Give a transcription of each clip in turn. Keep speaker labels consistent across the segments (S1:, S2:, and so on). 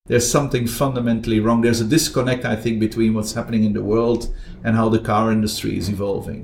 S1: there's something fundamentally wrong. There's a disconnect, I think, between what's happening in the world and how the car industry is evolving.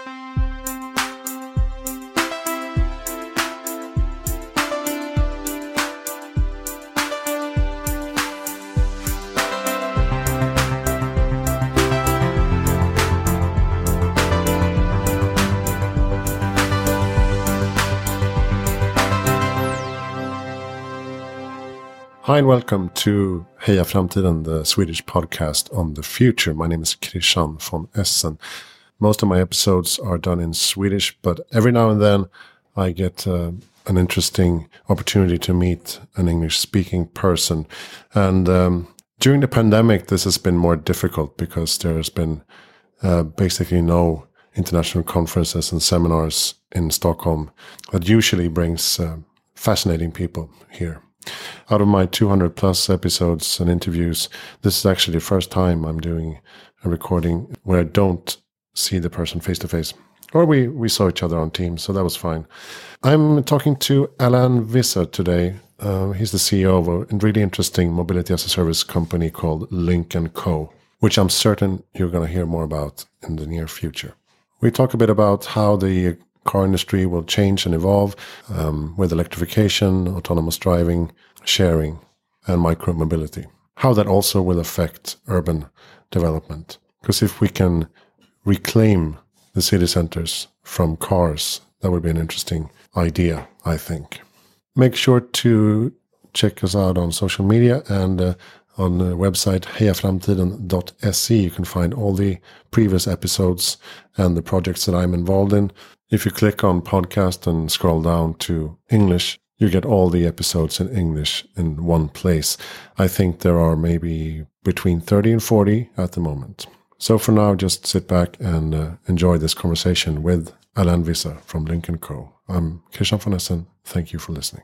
S2: Hi and welcome to Heja Framtiden, the Swedish podcast on the future. My name is Christian von Essen. Most of my episodes are done in Swedish, but every now and then I get an interesting opportunity to meet an English-speaking person. And during the pandemic, this has been more difficult because there has been basically no international conferences and seminars in Stockholm that usually brings fascinating people here. Out of my 200 plus episodes and interviews, this is actually the first time I'm doing a recording where I don't see the person face to face. Or we saw each other on Teams, so that was fine. I'm talking to Alain Visser today. He's the CEO of a really interesting mobility as a service company called Lynk & Co, which I'm certain you're going to hear more about in the near future. We talk a bit about how the car industry will change and evolve with electrification, autonomous driving, sharing, and micromobility. How that also will affect urban development. Because if we can reclaim the city centers from cars, that would be an interesting idea, I think. Make sure to check us out on social media and on the website hejaframtiden.se. You can find all the previous episodes and the projects that I'm involved in. If you click on podcast and scroll down to English, you get all the episodes in English in one place. I think there are maybe between 30 and 40 at the moment. So for now, just sit back and enjoy this conversation with Alain Visser from Lynk & Co. I'm Christian von Essen. Thank you for listening.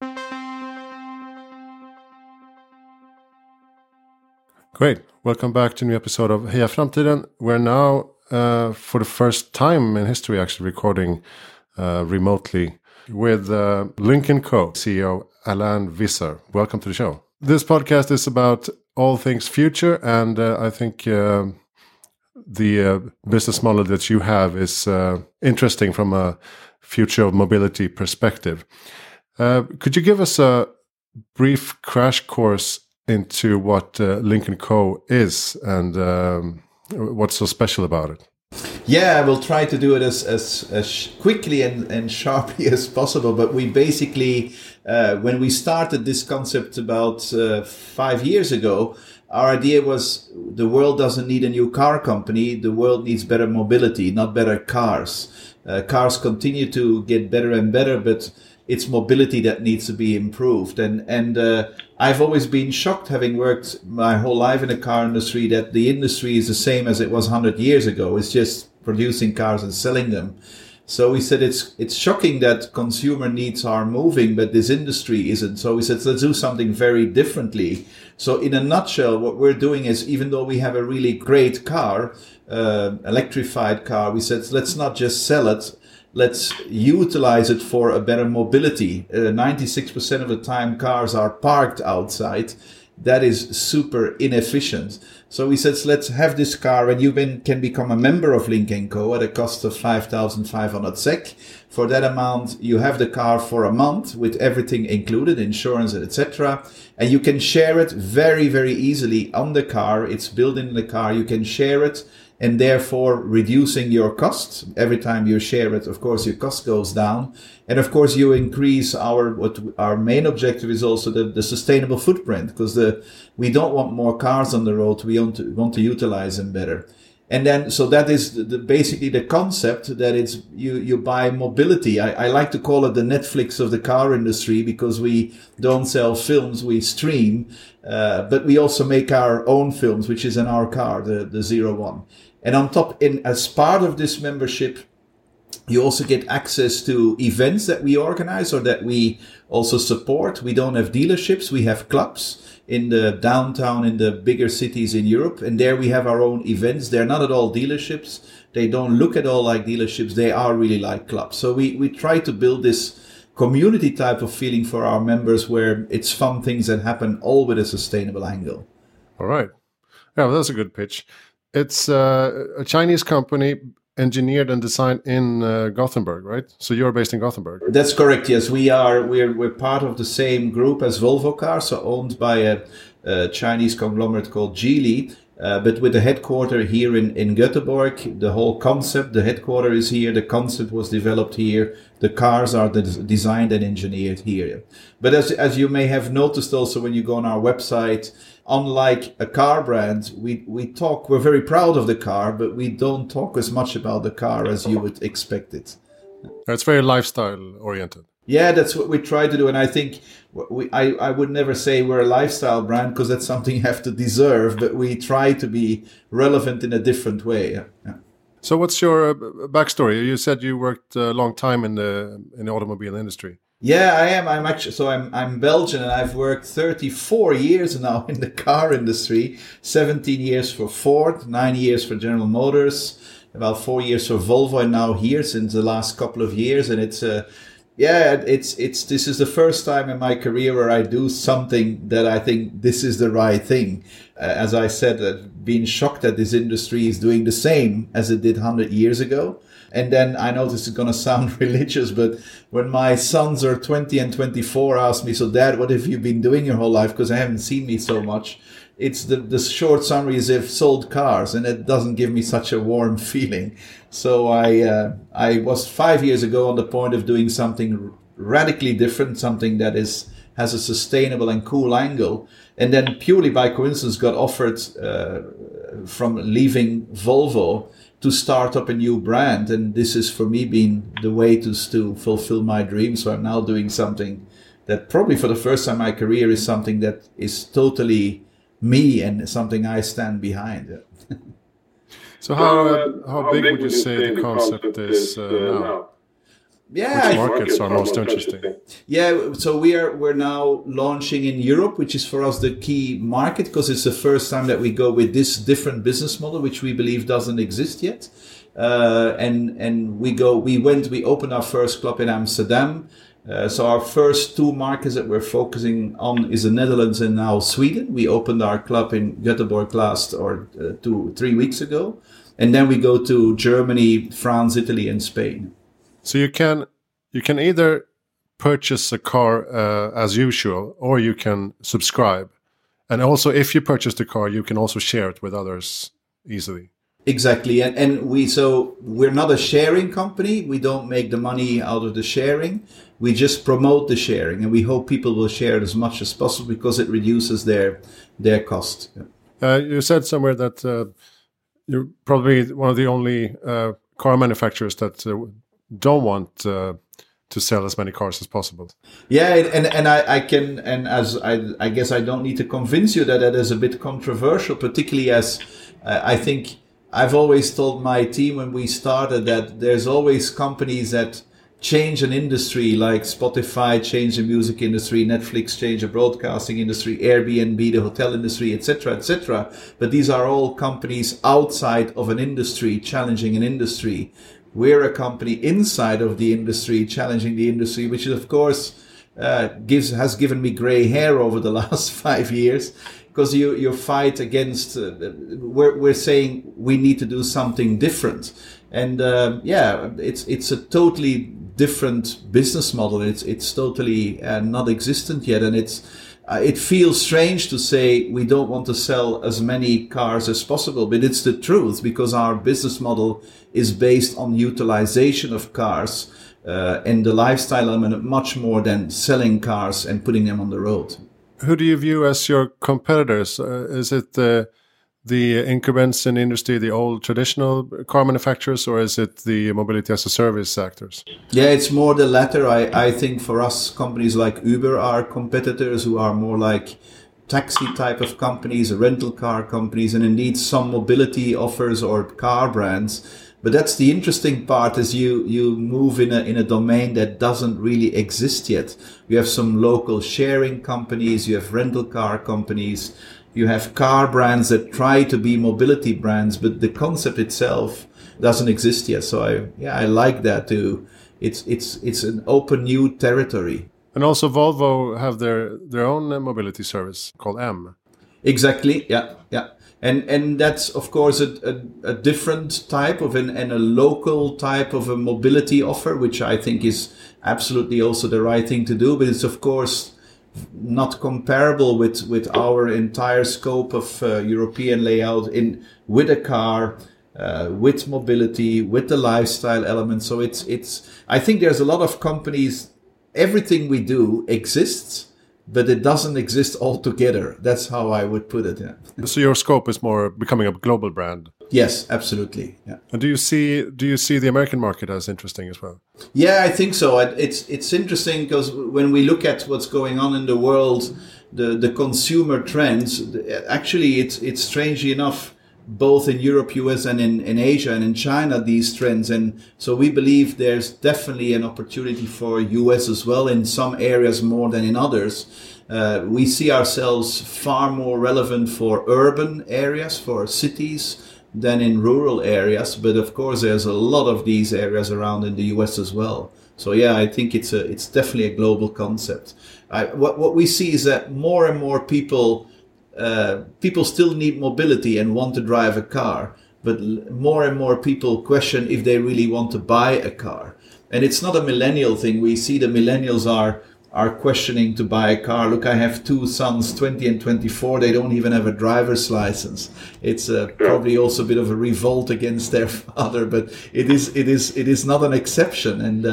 S2: Great. Welcome back to a new episode of Heja Framtiden. We're now, for the first time in history, actually recording remotely with Lynk & Co. CEO Alain Visser. Welcome to the show. This podcast is about all things future, and I think the business model that you have is interesting from a future of mobility perspective. Could you give us a brief crash course into what Lynk & Co. is and what's so special about it?
S1: Yeah, I will try to do it as quickly and sharply as possible. But we basically, when we started this concept about 5 years ago, our idea was the world doesn't need a new car company. The world needs better mobility, not better cars. Cars continue to get better and better, but it's mobility that needs to be improved. And I've always been shocked, having worked my whole life in the car industry, that the industry is the same as it was 100 years ago. It's just producing cars and selling them. So we said it's shocking that consumer needs are moving, but this industry isn't. So we said, let's do something very differently. So in a nutshell, what we're doing is, even though we have a really great car, electrified car, we said, let's not just sell it. Let's utilize it for a better mobility. 96% of the time cars are parked outside. That is super inefficient. So we said, let's have this car, and you can become a member of Lynk & Co. at a cost of 5,500 SEK. For that amount, you have the car for a month with everything included, insurance, etc. And you can share it very, very easily on the car. It's built in the car. You can share it, and therefore reducing your costs. Every time you share it, of course, your cost goes down. And of course, you increase our main objective is also the sustainable footprint, because we don't want more cars on the road. We want to utilize them better. And then, so that is basically the concept, that it's you buy mobility. I like to call it the Netflix of the car industry, because we don't sell films, we stream, but we also make our own films, which is in our car, the 01. And on top, as part of this membership, you also get access to events that we organize or that we also support. We don't have dealerships, we have clubs in the downtown, in the bigger cities in Europe. And there we have our own events. They're not at all dealerships. They don't look at all like dealerships. They are really like clubs. So we try to build this community type of feeling for our members, where it's fun things that happen all with a sustainable angle.
S2: All right. Yeah, well, that's a good pitch. It's a Chinese company engineered and designed in Gothenburg, right? So you're based in Gothenburg.
S1: That's correct. Yes, we're part of the same group as Volvo Cars, so owned by a Chinese conglomerate called Geely. But with the headquarter here in Göteborg, the whole concept, the headquarter is here, the concept was developed here, the cars are designed and engineered here. But as you may have noticed also when you go on our website, unlike a car brand, we're very proud of the car, but we don't talk as much about the car as you would expect it.
S2: It's very lifestyle oriented.
S1: Yeah, that's what we try to do. And I think I would never say we're a lifestyle brand, because that's something you have to deserve, but we try to be relevant in a different way. Yeah.
S2: So what's your backstory? You said you worked a long time in the automobile industry.
S1: Yeah, I am. I'm Belgian, and I've worked 34 years now in the car industry. 17 years for Ford, 9 years for General Motors, about 4 years for Volvo, and now here since the last couple of years. And this is the first time in my career where I do something that I think this is the right thing. As I said, being shocked that this industry is doing the same as it did 100 years ago. And then I know this is going to sound religious, but when my sons are 20 and 24 ask me, so Dad, what have you been doing your whole life? Because I haven't seen me so much. It's the short summary is they've sold cars, and it doesn't give me such a warm feeling. So I was 5 years ago on the point of doing something radically different, something that has a sustainable and cool angle. And then purely by coincidence got offered from leaving Volvo to start up a new brand. And this is for me been the way to fulfill my dream. So I'm now doing something that probably for the first time in my career is something that is totally me and something I stand behind.
S2: So how big would you say the concept is now?
S1: Yeah,
S2: which markets are most interesting?
S1: Yeah, so we're now launching in Europe, which is for us the key market, because it's the first time that we go with this different business model, which we believe doesn't exist yet. And we opened our first club in Amsterdam. So our first two markets that we're focusing on is the Netherlands and now Sweden. We opened our club in Göteborg last 3 weeks ago. And then we go to Germany, France, Italy, and Spain.
S2: So you can either purchase a car as usual, or you can subscribe. And also, if you purchase the car, you can also share it with others easily.
S1: Exactly. And we're not a sharing company. We don't make the money out of the sharing. We just promote the sharing, and we hope people will share it as much as possible because it reduces their cost.
S2: You said somewhere that you're probably one of the only car manufacturers that don't want to sell as many cars as possible.
S1: Yeah, and I guess I don't need to convince you that is a bit controversial, particularly as I think I've always told my team when we started that there's always companies that change an industry, like Spotify changed the music industry, Netflix changed the broadcasting industry, Airbnb the hotel industry, etc., etc. But these are all companies outside of an industry, challenging an industry. We're a company inside of the industry, challenging the industry, which of course has given me gray hair over the last 5 years, because you fight against. We're saying we need to do something different, and it's a totally different business model. It's totally not existent yet, and it feels strange to say we don't want to sell as many cars as possible, but it's the truth, because our business model is based on utilization of cars and the lifestyle element much more than selling cars and putting them on the road.
S2: Who do you view as your competitors? Is it the incumbents in the industry, the old traditional car manufacturers, or is it the mobility as a service actors?
S1: Yeah, it's more the latter. I think for us, companies like Uber are competitors who are more like taxi type of companies, rental car companies, and indeed some mobility offers or car brands. But that's the interesting part, is you move in a domain that doesn't really exist yet. You have some local sharing companies, you have rental car companies, you have car brands that try to be mobility brands, but the concept itself doesn't exist yet. So I like that too. it's an open new territory.
S2: And also Volvo have their own mobility service called M.
S1: Exactly. Yeah. Yeah. And that's, of course, a different type of and a local type of a mobility offer, which I think is absolutely also the right thing to do. But it's, of course, not comparable with our entire scope of European layout with a car, with mobility, with the lifestyle element. So it's. I think there's a lot of companies. Everything we do exists, but it doesn't exist altogether. That's how I would put it. Yeah.
S2: So your scope is more becoming a global brand.
S1: Yes, absolutely. Yeah.
S2: And do you see the American market as interesting as well?
S1: Yeah, I think so. It's interesting because when we look at what's going on in the world, the consumer trends, actually, it's strangely enough, both in Europe, US, and in Asia and in China, these trends. And so we believe there's definitely an opportunity for US as well, in some areas more than in others. We see ourselves far more relevant for urban areas, for cities, than in rural areas. But of course, there's a lot of these areas around in the US as well. So yeah, I think it's definitely a global concept. What we see is that more and more people still need mobility and want to drive a car, but more and more people question if they really want to buy a car. And it's not a millennial thing. We see the millennials are questioning to buy a car. Look, I have two sons, 20 and 24. They don't even have a driver's license. It's probably also a bit of a revolt against their father, but it is not an exception. And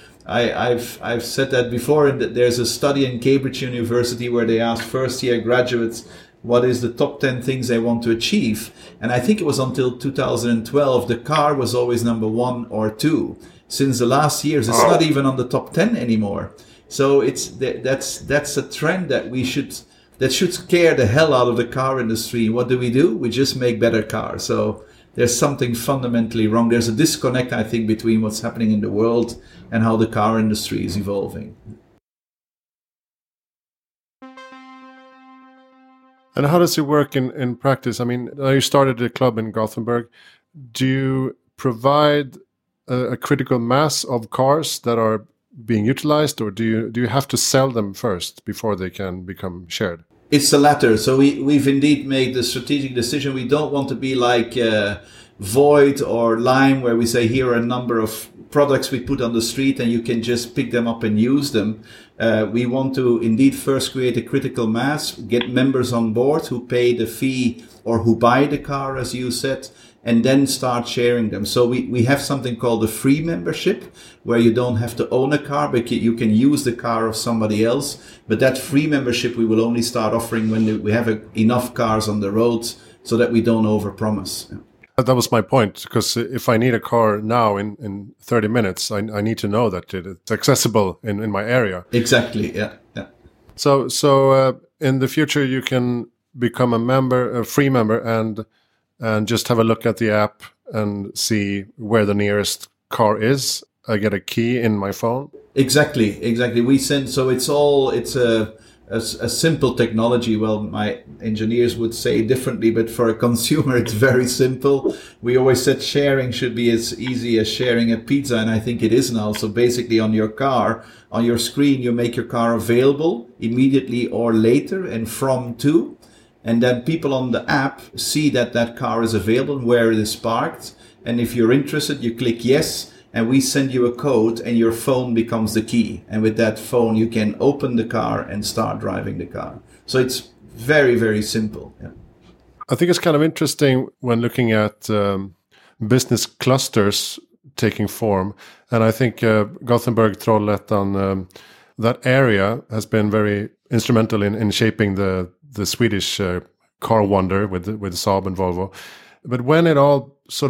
S1: I've said that before. And there's a study in Cambridge University where they asked first-year graduates what is the top 10 things they want to achieve. And I think it was until 2012, the car was always number 1 or 2. Since the last years, it's not even on the top 10 anymore. So that's a trend that should scare the hell out of the car industry. What do? We just make better cars. So there's something fundamentally wrong. There's a disconnect, I think, between what's happening in the world and how the car industry is evolving.
S2: And how does it work in practice? I mean, you started a club in Gothenburg. Do you provide a critical mass of cars that are being utilized, or do you have to sell them first before they can become shared?
S1: It's the latter. So we've indeed made the strategic decision. We don't want to be like Void or Lime, where we say here are a number of products we put on the street and you can just pick them up and use them. We want to indeed first create a critical mass, get members on board who pay the fee or who buy the car, as you said, and then start sharing them. So we have something called a free membership, where you don't have to own a car, but you can use the car of somebody else. But that free membership we will only start offering when we have enough cars on the roads, so that we don't overpromise.
S2: That was my point, because if I need a car now in 30 minutes, I need to know that it's accessible in my area.
S1: Exactly, yeah.
S2: So in the future, you can become a free member, and just have a look at the app and see where the nearest car is. I get a key in my phone. Exactly.
S1: We send, so it's a simple technology. Well, my engineers would say differently, but for a consumer, it's very simple. We always said sharing should be as easy as sharing a pizza, and I think it is now. So basically on your car, on your screen, you make your car available immediately or later and from to. And then people on the app see that car is available and where it is parked. And if you're interested, you click yes, and we send you a code, and your phone becomes the key. And with that phone, you can open the car and start driving the car. So it's very, very simple. Yeah.
S2: I think it's kind of interesting when looking at business clusters taking form. And I think Gothenburg, Trollhättan, that area has been very instrumental in shaping the Swedish car wonder with Saab and Volvo. But when it all sort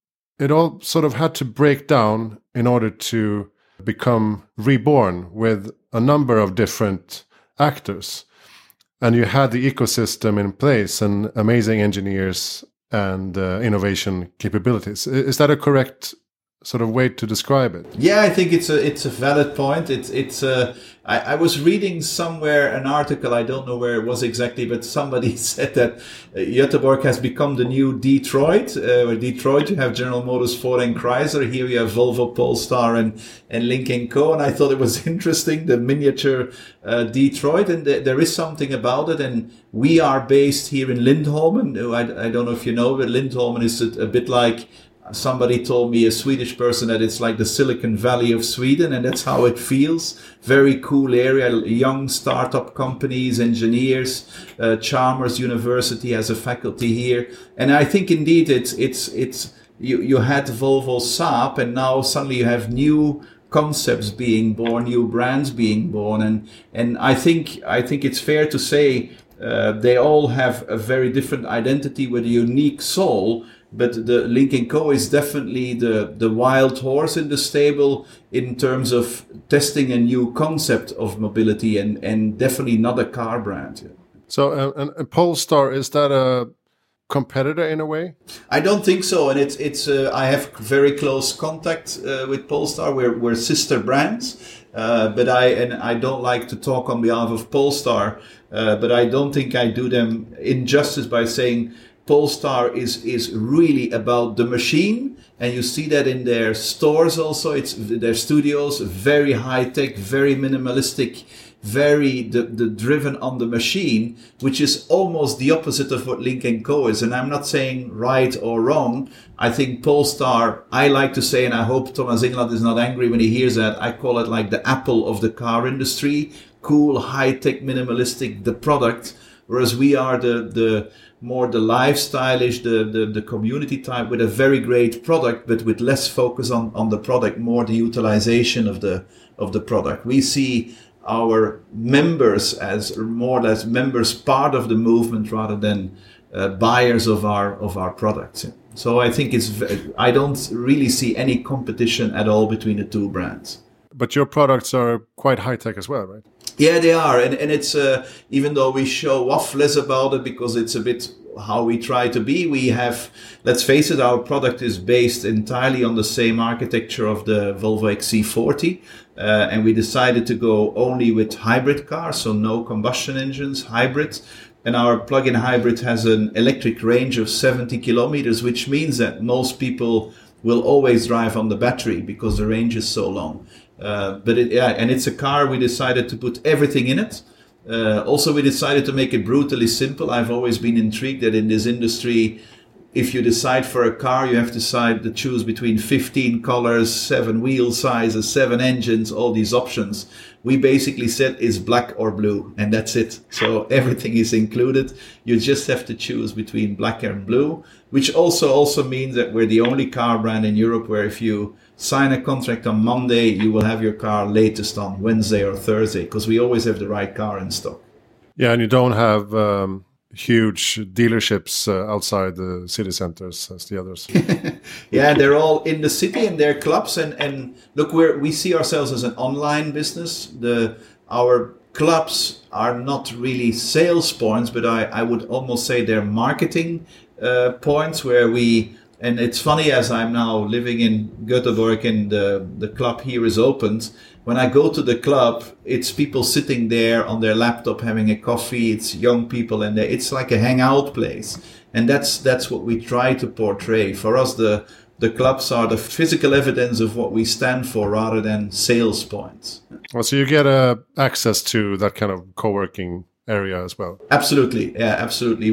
S2: of had to break down in order to become reborn with a number of different actors. And you had the ecosystem in place and amazing engineers and innovation capabilities. Is that a correct sort of way to describe it.
S1: Yeah, I think it's a valid point. I was reading somewhere an article, I don't know where it was exactly, but somebody said that Göteborg has become the new Detroit. Where Detroit, you have General Motors, Ford and Chrysler. Here you have Volvo, Polestar and Lynk & Co. And I thought it was interesting, the miniature Detroit. And there is something about it. And we are based here in Lindholmen. I don't know if you know, but Lindholmen is a bit like... Somebody told me, a Swedish person, that it's like the Silicon Valley of Sweden, and that's how it feels. Very cool area, young startup companies, engineers, Chalmers University has a faculty here. And I think indeed you had Volvo Saab, and now suddenly you have new concepts being born, new brands being born. And I think it's fair to say they all have a very different identity with a unique soul. But the Lynk & Co is definitely the wild horse in the stable in terms of testing a new concept of mobility and definitely not a car brand.
S2: So, and Polestar, is that a competitor in a way?
S1: I don't think so. And it's I have very close contact with Polestar. We're sister brands. But I don't like to talk on behalf of Polestar. But I don't think I do them injustice by saying Polestar is really about the machine, and you see that in their stores also. It's their studios, very high tech, very minimalistic, very the driven on the machine, which is almost the opposite of what Lynk & Co is. And I'm not saying right or wrong. I think Polestar, I like to say, and I hope Thomas Ingeland is not angry when he hears that, I call it like the Apple of the car industry. Cool, high tech, minimalistic, the product. Whereas we are the more the lifestyleish, the community type, with a very great product, but with less focus on the product, more the utilization of the product. We see our members as more or less members, part of the movement, rather than buyers of our products. So I think I don't really see any competition at all between the two brands.
S2: But your products are quite high tech as well, right?
S1: Yeah, they are. And it's, even though we show off less about it because it's a bit how we try to be, we have, let's face it, our product is based entirely on the same architecture of the Volvo XC40. And we decided to go only with hybrid cars, so no combustion engines, hybrid. And our plug-in hybrid has an electric range of 70 kilometers, which means that most people will always drive on the battery because the range is so long. And it's a car, we decided to put everything in it. Also, we decided to make it brutally simple. I've always been intrigued that in this industry, if you decide for a car, you have to choose between 15 colors, 7 wheel sizes, 7 engines, all these options. We basically said it's black or blue, and that's it. So everything is included. You just have to choose between black and blue, which also means that we're the only car brand in Europe where if you sign a contract on Monday, you will have your car latest on Wednesday or Thursday, because we always have the right car in stock.
S2: Yeah, and you don't have huge dealerships outside the city centers as the others.
S1: Yeah, they're all in the city and they're clubs. And look, we see ourselves as an online business. Our clubs are not really sales points, but I would almost say they're marketing points where and it's funny, as I'm now living in Göteborg and the club here is opened. When I go to the club, it's people sitting there on their laptop having a coffee. It's young people, and it's like a hangout place. And that's what we try to portray. For us, the clubs are the physical evidence of what we stand for rather than sales points.
S2: Well, so you get access to that kind of co-working area as well.
S1: Absolutely, yeah, absolutely.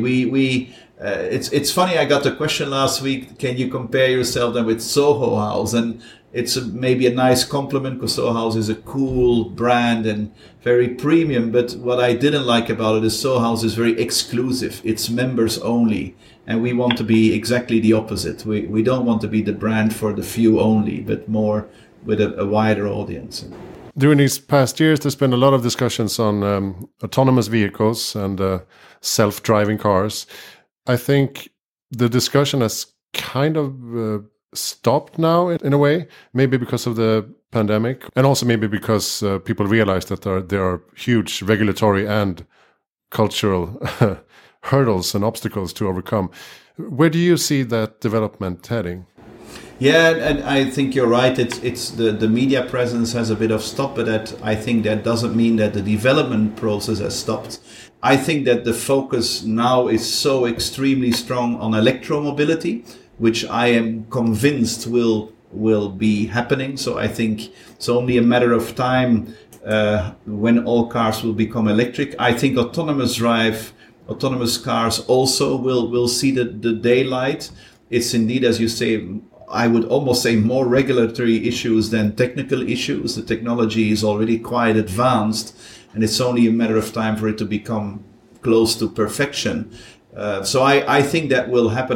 S1: It's funny. I got the question last week. Can you compare yourself then with Soho House? And it's maybe a nice compliment because Soho House is a cool brand and very premium. But what I didn't like about it is Soho House is very exclusive. It's members only, and we want to be exactly the opposite. We don't want to be the brand for the few only, but more with a wider audience.
S2: During these past years, there's been a lot of discussions on autonomous vehicles and self-driving cars. I think the discussion has kind of stopped now in a way, maybe because of the pandemic, and also maybe because people realize that there are huge regulatory and cultural hurdles and obstacles to overcome. Where do you see that development heading?
S1: Yeah, and I think you're right. It's the media presence has a bit of stop, but I think that doesn't mean that the development process has stopped. I think that the focus now is so extremely strong on electromobility, which I am convinced will be happening. So I think it's only a matter of time when all cars will become electric. I think autonomous cars also will see the daylight. It's indeed, as you say, I would almost say more regulatory issues than technical issues. The technology is already quite advanced, and it's only a matter of time for it to become close to perfection. So I think that will happen.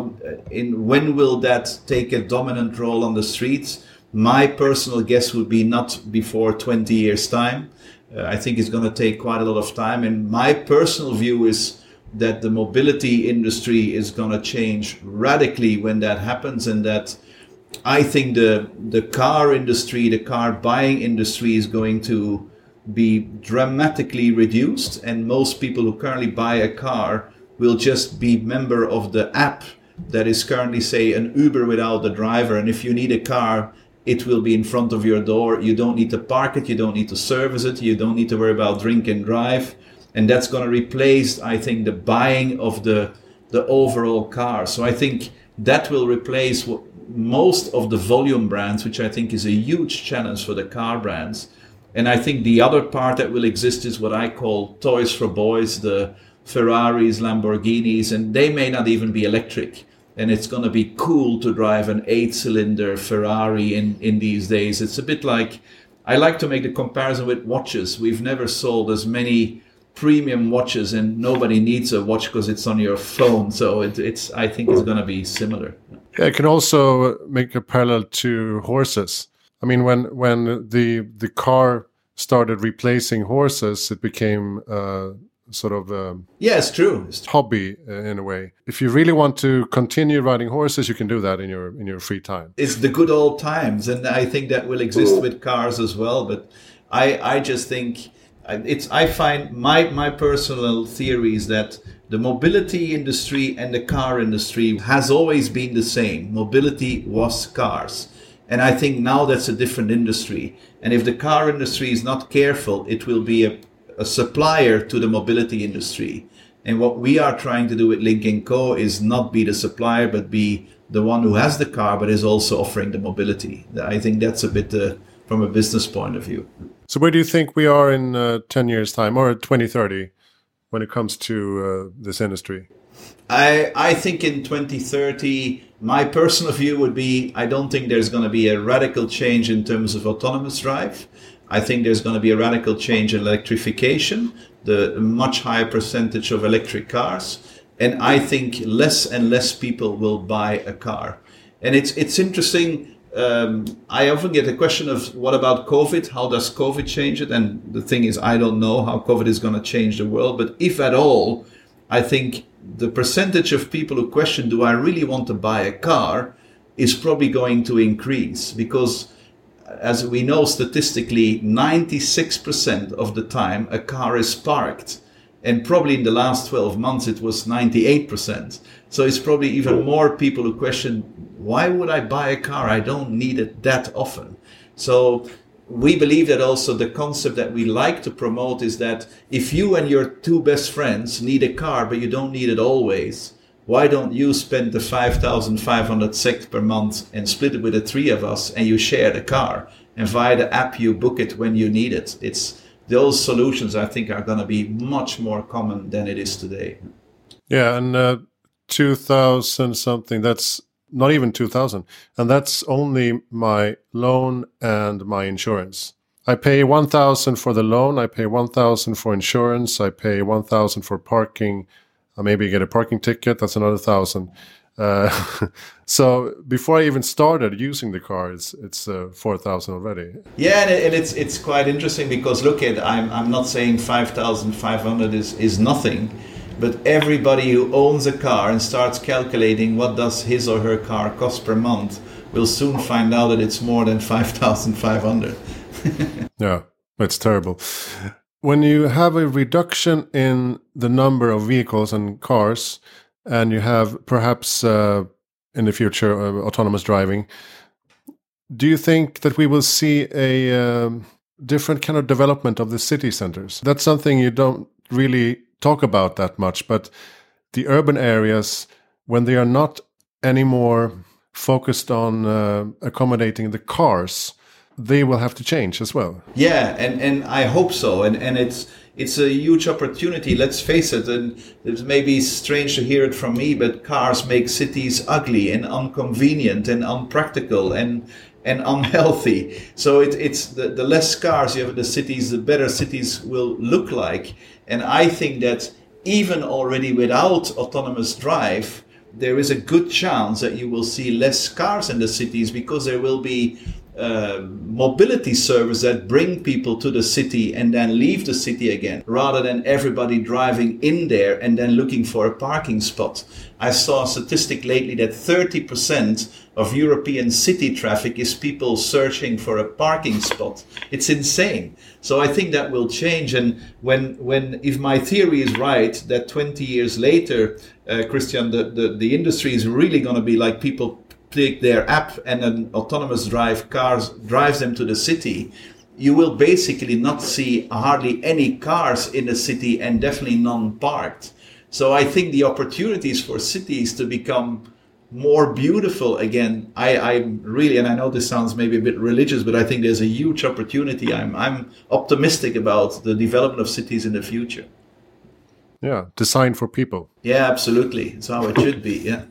S1: When will that take a dominant role on the streets? My personal guess would be not before 20 years' time. I think it's going to take quite a lot of time. And my personal view is that the mobility industry is going to change radically when that happens, and that I think the car industry, the car buying industry is going to be dramatically reduced, and most people who currently buy a car will just be member of the app that is currently, say, an Uber without the driver. And if you need a car, it will be in front of your door. You don't need to park it, you don't need to service it, you don't need to worry about drink and drive. And that's going to replace, I think, the buying of the overall car. So I think that will replace most of the volume brands, which I think is a huge challenge for the car brands. And I think the other part that will exist is what I call toys for boys, the Ferraris, Lamborghinis, and they may not even be electric. And it's going to be cool to drive an 8-cylinder Ferrari in these days. It's a bit like, I like to make the comparison with watches. We've never sold as many premium watches, and nobody needs a watch because it's on your phone. So it's I think it's going to be similar.
S2: Yeah, I can also make a parallel to horses. I mean, when the car started replacing horses, it became sort of
S1: yeah, it's true.
S2: Hobby in a way. If you really want to continue riding horses, you can do that in your free time.
S1: It's the good old times, and I think that will exist with cars as well. But I just think I find my personal theory is that the mobility industry and the car industry has always been the same. Mobility was cars. And I think now that's a different industry. And if the car industry is not careful, it will be a supplier to the mobility industry. And what we are trying to do with Lynk & Co is not be the supplier, but be the one who has the car, but is also offering the mobility. I think that's a bit from a business point of view.
S2: So where do you think we are in 10 years' time, or 2030, when it comes to this industry?
S1: I think in 2030, my personal view would be, I don't think there's going to be a radical change in terms of autonomous drive. I think there's going to be a radical change in electrification, the much higher percentage of electric cars. And I think less and less people will buy a car. And it's interesting. I often get the question of what about COVID? How does COVID change it? And the thing is, I don't know how COVID is going to change the world. But if at all, I think the percentage of people who question, do I really want to buy a car, is probably going to increase. Because as we know statistically, 96% of the time a car is parked. And probably in the last 12 months, it was 98%. So it's probably even more people who question, why would I buy a car? I don't need it that often. So we believe that also the concept that we like to promote is that if you and your two best friends need a car, but you don't need it always, why don't you spend the 5,500 SEK per month and split it with the three of us, and you share the car, and via the app you book it when you need it. Those solutions, I think, are going to be much more common than it is today.
S2: Yeah, and 2,000 something, that's not even 2,000. And that's only my loan and my insurance. I pay 1,000 for the loan, I pay 1,000 for insurance, I pay 1,000 for parking. I maybe get a parking ticket, that's another 1,000. So before I even started using the car, it's 4,000 already.
S1: Yeah, and it's quite interesting because look at, I'm not saying 5,500 is nothing, but everybody who owns a car and starts calculating what does his or her car cost per month will soon find out that it's more than 5,500.
S2: Yeah, it's terrible. When you have a reduction in the number of vehicles and cars, and you have perhaps in the future, autonomous driving. Do you think that we will see a different kind of development of the city centers? That's something you don't really talk about that much, but the urban areas, when they are not anymore focused on accommodating the cars, they will have to change as well.
S1: Yeah, and I hope so. And it's a huge opportunity, let's face it. And it may be strange to hear it from me, but cars make cities ugly and inconvenient and unpractical and unhealthy. So it's the less cars you have in the cities, the better cities will look like. And I think that even already without autonomous drive, there is a good chance that you will see less cars in the cities, because there will be mobility services that bring people to the city and then leave the city again, rather than everybody driving in there and then looking for a parking spot. I saw a statistic lately that 30% of European city traffic is people searching for a parking spot. It's insane. So I think that will change. And when if my theory is right, that 20 years later, Christian, the industry is really going to be like people take their app and an autonomous cars drives them to the city, you will basically not see hardly any cars in the city, and definitely none parked. So I think the opportunities for cities to become more beautiful again, I really, and I know this sounds maybe a bit religious, but I think there's a huge opportunity. I'm optimistic about the development of cities in the future.
S2: Yeah, designed for people.
S1: Yeah, absolutely. It's how it should be, yeah.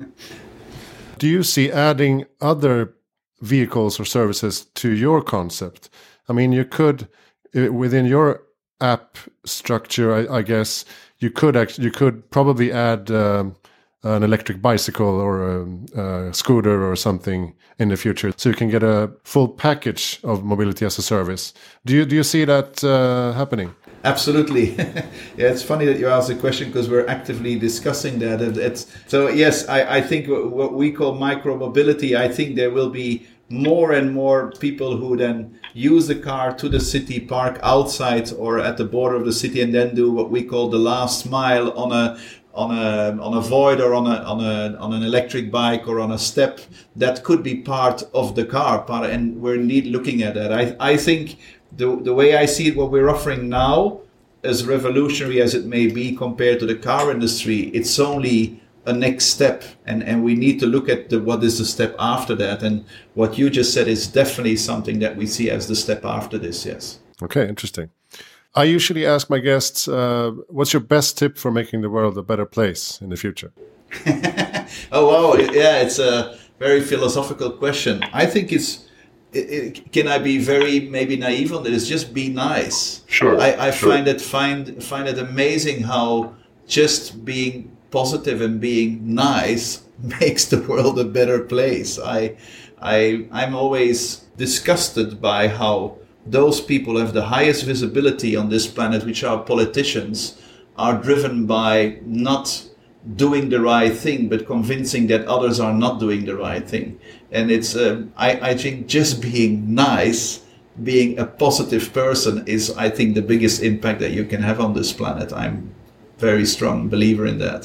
S2: Do you see adding other vehicles or services to your concept? I mean, you could, within your app structure, I guess, you could probably add an electric bicycle or a scooter or something in the future, so you can get a full package of mobility as a service. Do you see that happening?
S1: Absolutely. Yeah, it's funny that you asked the question, because we're actively discussing that. So yes, I think what we call micro-mobility, I think there will be more and more people who then use the car to the city, park outside or at the border of the city, and then do what we call the last mile on a void or on an electric bike or on a step. That could be part of the car, and we're indeed looking at that. I think the way I see it, what we're offering now, as revolutionary as it may be compared to the car industry, it's only a next step, and we need to look at what is the step after that. And what you just said is definitely something that we see as the step after this. Yes.
S2: Okay, interesting. I usually ask my guests, what's your best tip for making the world a better place in the future?
S1: Oh wow, yeah, it's a very philosophical question. I think can I be very maybe naive on this? Just be nice.
S2: Sure.
S1: I find it amazing how just being positive and being nice makes the world a better place. I'm always disgusted by how those people have the highest visibility on this planet, which are politicians, are driven by not doing the right thing, but convincing that others are not doing the right thing. And it's, I think just being nice, being a positive person is, I think, the biggest impact that you can have on this planet. I'm very strong believer in that.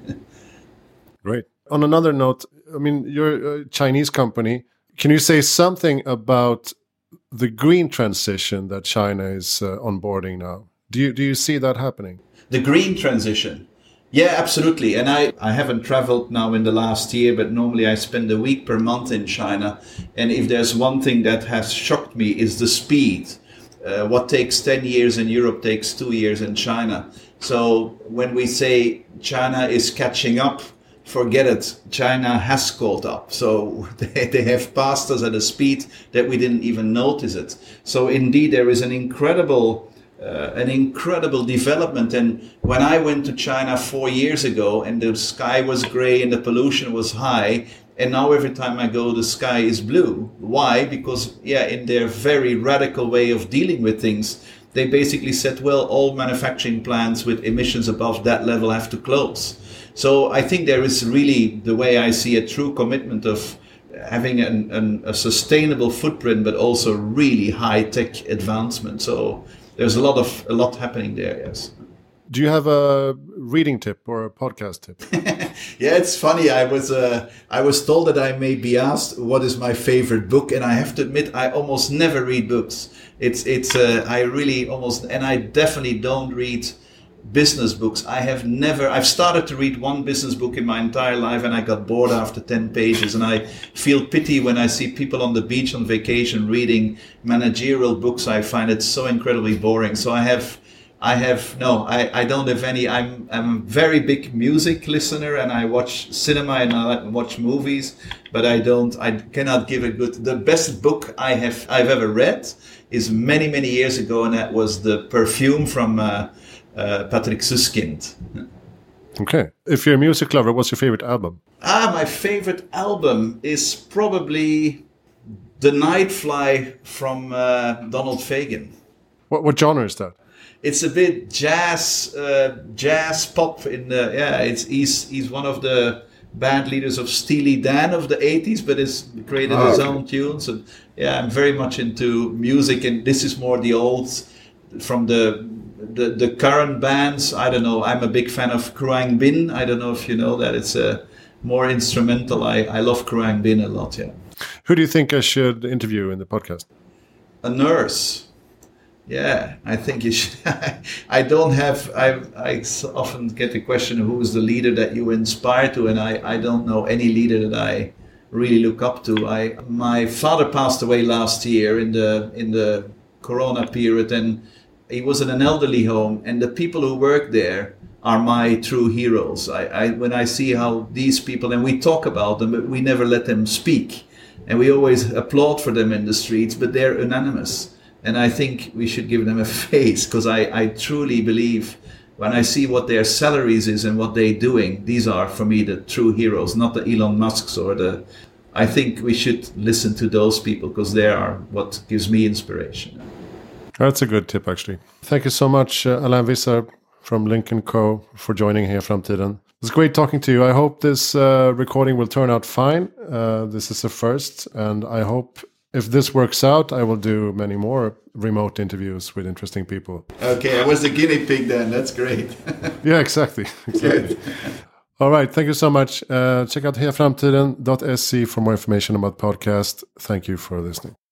S2: Great. On another note, I mean, you're a Chinese company. Can you say something about the green transition that China is onboarding now? Do you see that happening?
S1: The green transition? Yeah, absolutely. And I haven't traveled now in the last year, but normally I spend a week per month in China. And if there's one thing that has shocked me is the speed. What takes 10 years in Europe takes 2 years in China. So when we say China is catching up, forget it. China has caught up. So they have passed us at a speed that we didn't even notice it. So indeed, there is an incredible development. And when I went to China 4 years ago, and the sky was gray and the pollution was high, and now every time I go, the sky is blue. Why? Because, in their very radical way of dealing with things, they basically said, well, all manufacturing plants with emissions above that level have to close. So I think there is really, the way I see a true commitment of having a sustainable footprint, but also really high-tech advancement. So there's a lot happening there, yes.
S2: Do you have a reading tip or a podcast tip?
S1: Yeah, it's funny. I was told that I may be asked what is my favorite book, and I have to admit I almost never read books. I really almost, and I definitely don't read business books. I've started to read one business book in my entire life, and I got bored after 10 pages, and I feel pity when I see people on the beach on vacation reading managerial books. I find it so incredibly boring. So I don't have any. I'm a very big music listener, and I watch cinema and I watch movies, but I cannot give the best book I've ever read is many, many years ago, and that was The Perfume from Patrick Suskind.
S2: Okay. If you're a music lover, what's your favorite album?
S1: My favorite album is probably The Nightfly from Donald Fagen.
S2: What genre is that?
S1: It's a bit jazz pop. He's one of the band leaders of Steely Dan of the 80s, but has created his own tunes. And yeah, I'm very much into music, and this is more the old from the current bands. I don't know. I'm a big fan of Kruang Bin. I don't know if you know that. It's a more instrumental. I love Kruang Bin a lot. Yeah.
S2: Who do you think I should interview in the podcast?
S1: A nurse. Yeah, I think you should. I often get the question, who is the leader that you inspire to? And I don't know any leader that I really look up to. My father passed away last year in the Corona period, and he was in an elderly home, and the people who work there are my true heroes. When I see how these people, and we talk about them, but we never let them speak. And we always applaud for them in the streets, but they're anonymous. And I think we should give them a face, because I truly believe when I see what their salaries is and what they're doing, these are for me the true heroes, not the Elon Musks I think we should listen to those people, because they are what gives me inspiration.
S2: That's a good tip, actually. Thank you so much, Alain Visser from Lincoln Co. for joining Heja Framtiden. It's great talking to you. I hope this recording will turn out fine. This is a first, and I hope if this works out, I will do many more remote interviews with interesting people.
S1: Okay, I was the guinea pig then. That's great.
S2: Yeah, exactly. All right, thank you so much. Check out hejaframtiden.se for more information about podcast. Thank you for listening.